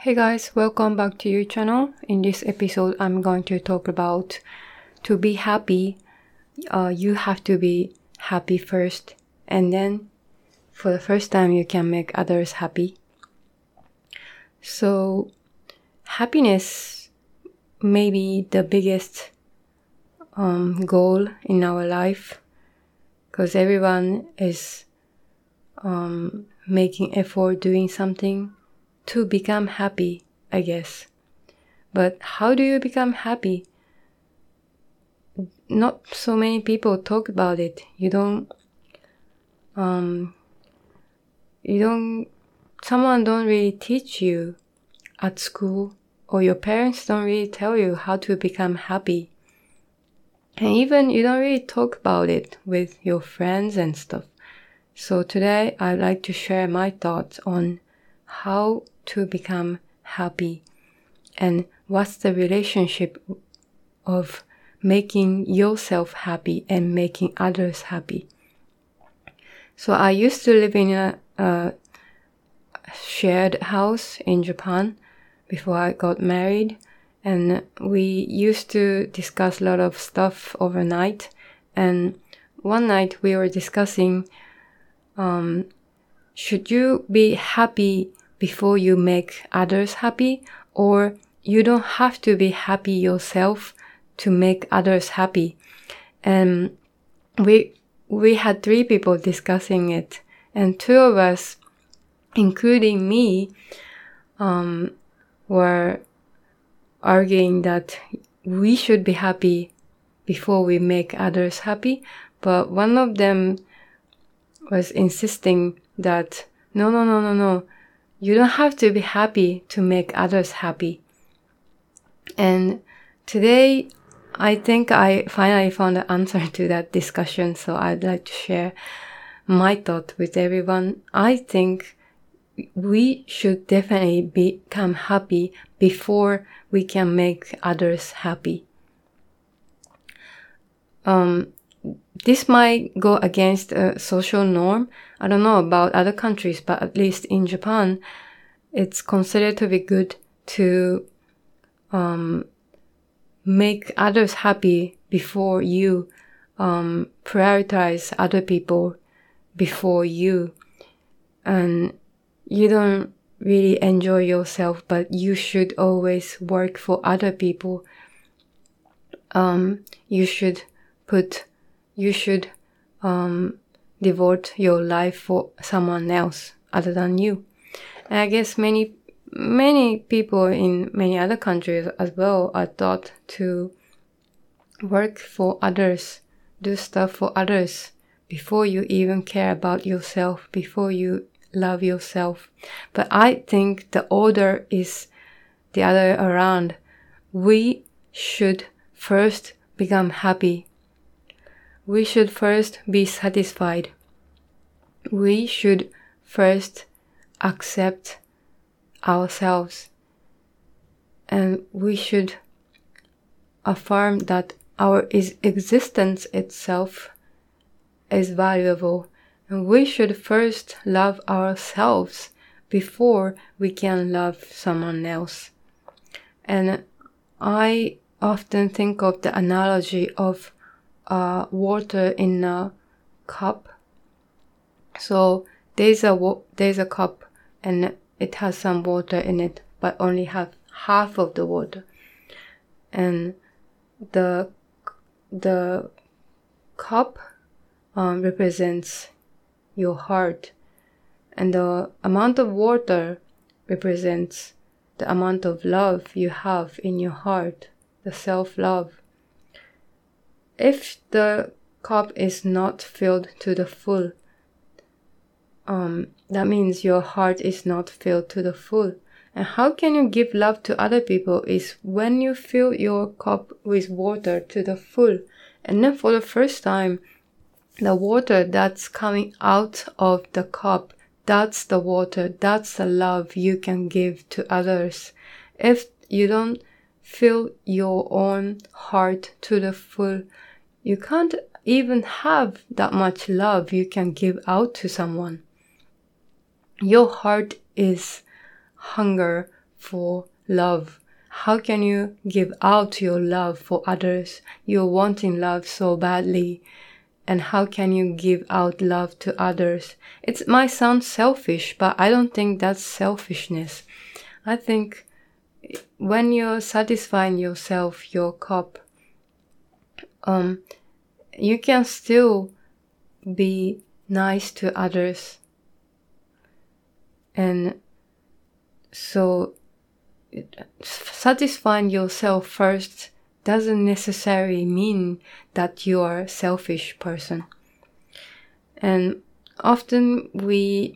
Hey guys, welcome back to your channel. In this episode, I'm going to talk about to be happy, you have to be happy first, and then for the first time you can make others happy. So happiness may be the biggest goal in our life, because everyone is making effort doing something to become happy, I guess. But how do you become happy? Not so many people talk about it. Someone don't really teach you at school, or your parents don't really tell you how to become happy. And even you don't really talk about it with your friends and stuff. So today I'd like to share my thoughts on how to become happy and what's the relationship of making yourself happy and making others happy. So I used to live in a shared house in Japan before I got married, and we used to discuss a lot of stuff overnight. And one night we were discussing, should you be happy before you make others happy, or you don't have to be happy yourself to make others happy? And we had 3 people discussing it, and 2 of us, including me, were arguing that we should be happy before we make others happy. But one of them was insisting that no, you don't have to be happy to make others happy. And today, I think I finally found the answer to that discussion, so I'd like to share my thought with everyone. I think we should definitely become happy before we can make others happy. This might go against a social norm. I don't know about other countries, but at least in Japan, it's considered to be good to make others happy before you prioritize other people before you. And you don't really enjoy yourself, but you should always work for other people. You should devote your life for someone else other than you. And I guess many people in many other countries as well are taught to work for others, do stuff for others before you even care about yourself, before you love yourself. But I think the order is the other around. We should first become happy. We should first be satisfied. We should first accept ourselves. And we should affirm that our existence itself is valuable. And we should first love ourselves before we can love someone else. And I often think of the analogy of water in a cup. So there's a cup and it has some water in it, but only have half of the water. And the cup represents your heart, and the amount of water represents the amount of love you have in your heart, the self-love. If the cup is not filled to the full, that means your heart is not filled to the full. And how can you give love to other people is when you fill your cup with water to the full. And then for the first time, the water that's coming out of the cup, that's the water, that's the love you can give to others. If you don't fill your own heart to the full, you can't even have that much love you can give out to someone. Your heart is hunger for love? How can you give out your love for others? You're wanting love so badly. And how can you give out love to others? It might sound selfish, but I don't think that's selfishness. I think when you're satisfying yourself, your cup, you can still be nice to others. And so satisfying yourself first doesn't necessarily mean that you are a selfish person. And often we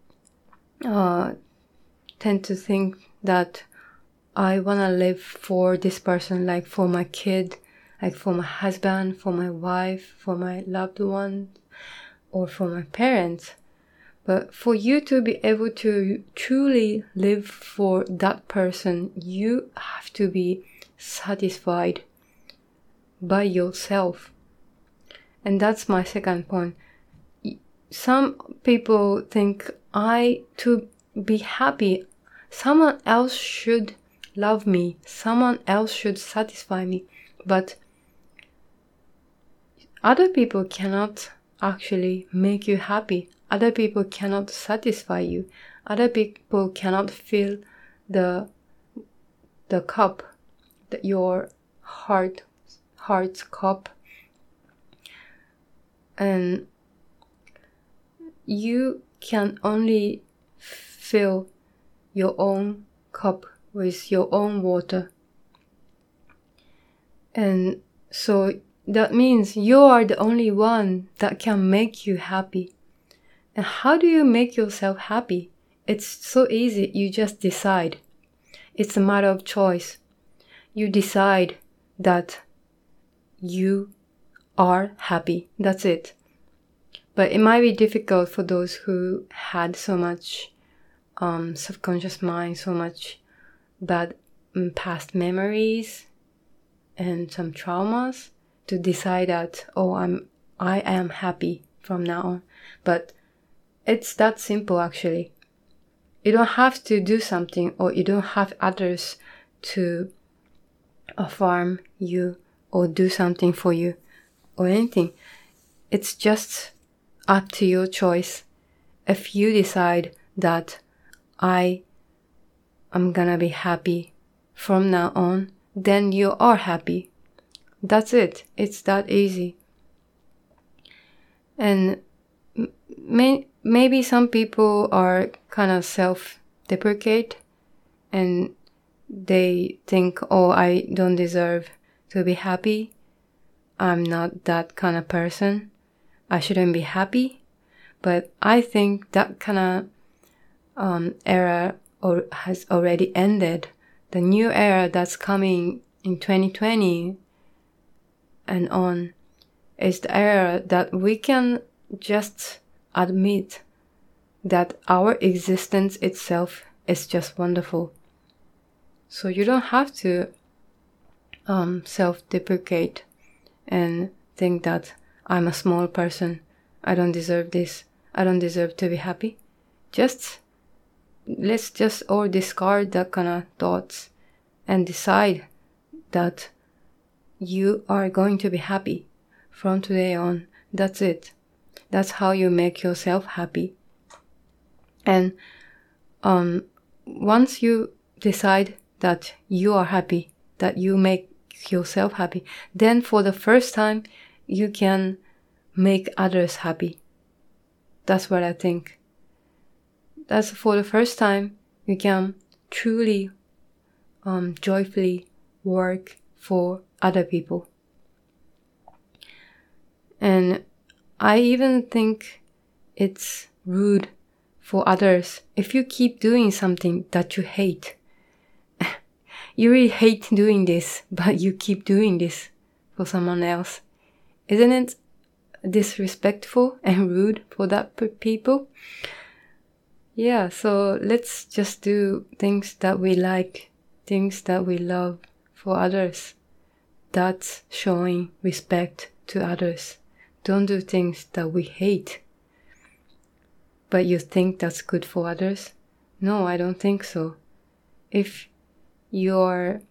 tend to think that I want to live for this person, like for my kid, like for my husband, for my wife, for my loved one, or for my parents. But for you to be able to truly live for that person, you have to be satisfied by yourself. And that's my second point. Some people think to be happy, someone else should love me, someone else should satisfy me. But other people cannot actually make you happy. Other people cannot satisfy you. Other people cannot fill the cup, your heart's cup. And you can only fill your own cup with your own water. And so that means you are the only one that can make you happy. And how do you make yourself happy? It's so easy. You just decide. It's a matter of choice. You decide that you are happy. That's it. But it might be difficult for those who had so much subconscious mind, so much bad past memories and some traumas to decide that, I am happy from now on. But it's that simple, actually. You don't have to do something, or you don't have others to affirm you or do something for you or anything. It's just up to your choice. If you decide that I am gonna be happy from now on, then you are happy. That's it. It's that easy. And maybe some people are kind of self-deprecate and they think, I don't deserve to be happy. I'm not that kind of person. I shouldn't be happy. But I think that kind of era has already ended. The new era that's coming in 2020 and on is the era that we can just admit that our existence itself is just wonderful. So you don't have to self-deprecate and think that I'm a small person, I don't deserve this, I don't deserve to be happy. Let's just all discard that kind of thoughts and decide that you are going to be happy from today on. That's it. That's how you make yourself happy. And once you decide that you are happy, that you make yourself happy, then for the first time you can make others happy. That's what I think. That's for the first time you can truly joyfully work for other people. And I even think it's rude for others if you keep doing something that you hate. You really hate doing this, but you keep doing this for someone else. Isn't it disrespectful and rude for that people? Yeah, so let's just do things that we like, things that we love for others. That's showing respect to others. Don't do things that we hate. But you think that's good for others? No, I don't think so. if you're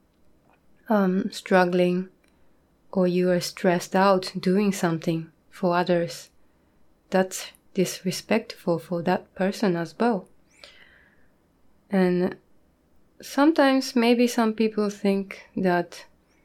struggling or you are stressed out doing something for others, that's disrespectful for that person as well. And sometimes maybe some people think that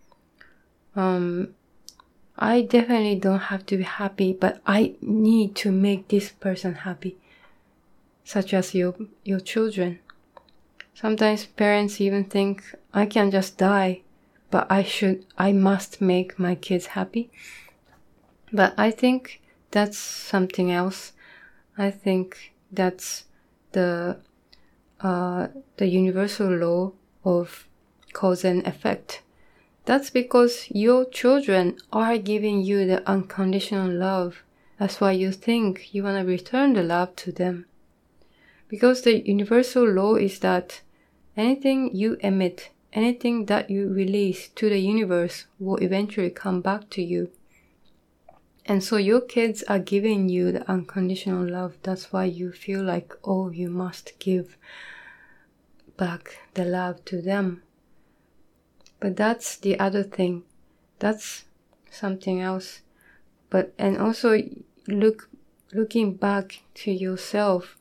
I definitely don't have to be happy, but I need to make this person happy, such as your children. Sometimes parents even think, I can just die, but I must make my kids happy. But I think that's something else. I think that's the universal law of cause and effect. That's because your children are giving you the unconditional love. That's why you think you want to return the love to them. Because the universal law is that anything you emit, anything that you release to the universe will eventually come back to you. And so your kids are giving you the unconditional love. That's why you feel like, oh, you must give back the love to them. But that's the other thing. That's something else. And also looking back to yourself,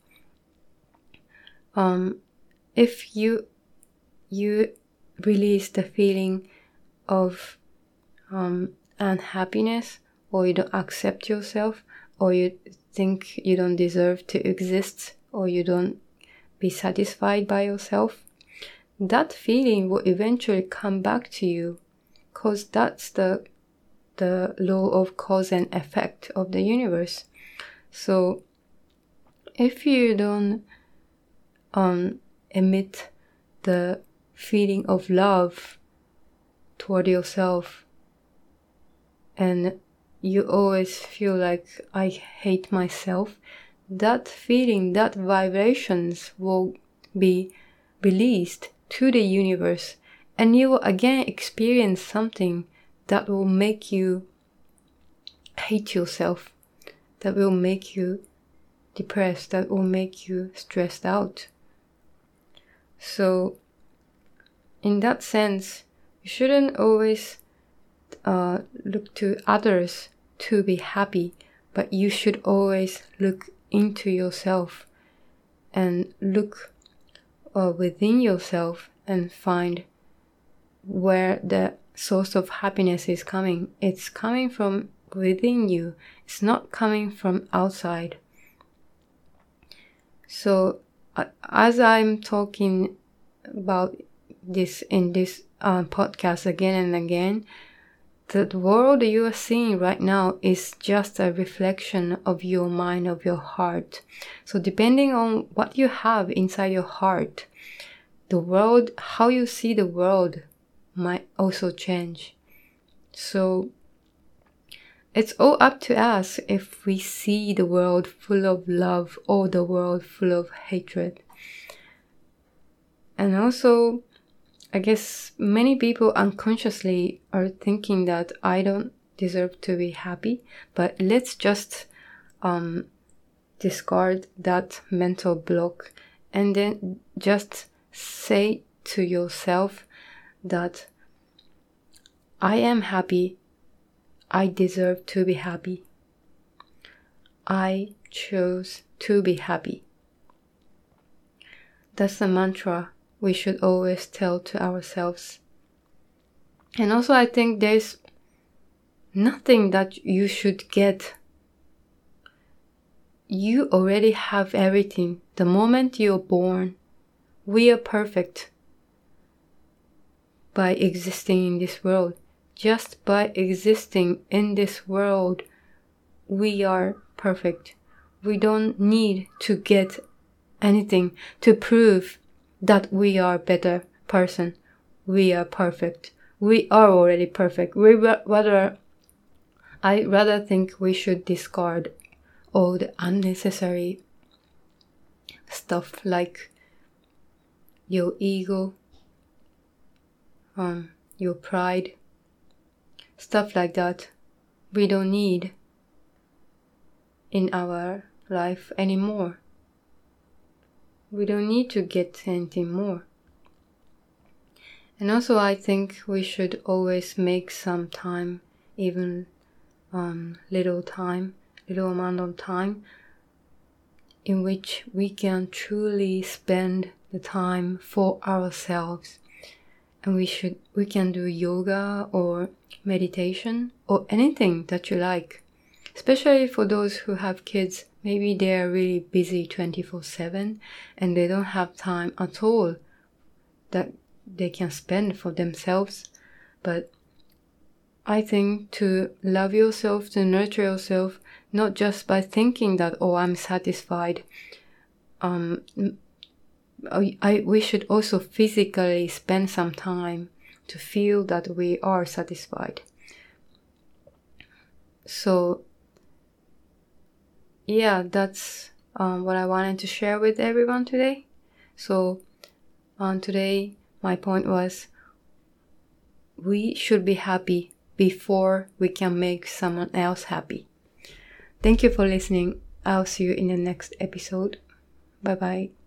if you release the feeling of unhappiness, or you don't accept yourself, or you think you don't deserve to exist, or you don't be satisfied by yourself, that feeling will eventually come back to you, because that's the law of cause and effect of the universe. So if you don't emit the feeling of love toward yourself, and you always feel like, I hate myself, that feeling, that vibrations will be released to the universe, and you will again experience something that will make you hate yourself, that will make you depressed, that will make you stressed out. So in that sense, you shouldn't always look to others to be happy, but you should always look into yourself and look within yourself and find where the source of happiness is coming. It's coming from within you. It's not coming from outside. So as I'm talking about this in this podcast again and again, the world you are seeing right now is just a reflection of your mind, of your heart. So depending on what you have inside your heart, the world, how you see the world might also change. So it's all up to us if we see the world full of love or the world full of hatred. And also, I guess many people unconsciously are thinking that I don't deserve to be happy, but let's just discard that mental block and then just say to yourself that I am happy, I deserve to be happy, I chose to be happy. That's the mantra we should always tell to ourselves. And also I think there's nothing that you should get. You already have everything. The moment you're born, we are perfect by existing in this world. Just by existing in this world, we are perfect. We don't need to get anything to prove that we are a better person. We are perfect. We are already perfect. I rather think we should discard all the unnecessary stuff like your ego, your pride, stuff like that. We don't need in our life anymore. We don't need to get anything more. And also I think we should always make some time, even little amount of time, in which we can truly spend the time for ourselves. And we can do yoga or meditation or anything that you like. Especially for those who have kids, maybe they're really busy 24/7 and they don't have time at all that they can spend for themselves. But I think to love yourself, to nurture yourself, not just by thinking that, oh, I'm satisfied. We should also physically spend some time to feel that we are satisfied. So, yeah, that's what I wanted to share with everyone today. So, today, my point was we should be happy before we can make someone else happy. Thank you for listening. I'll see you in the next episode. Bye bye.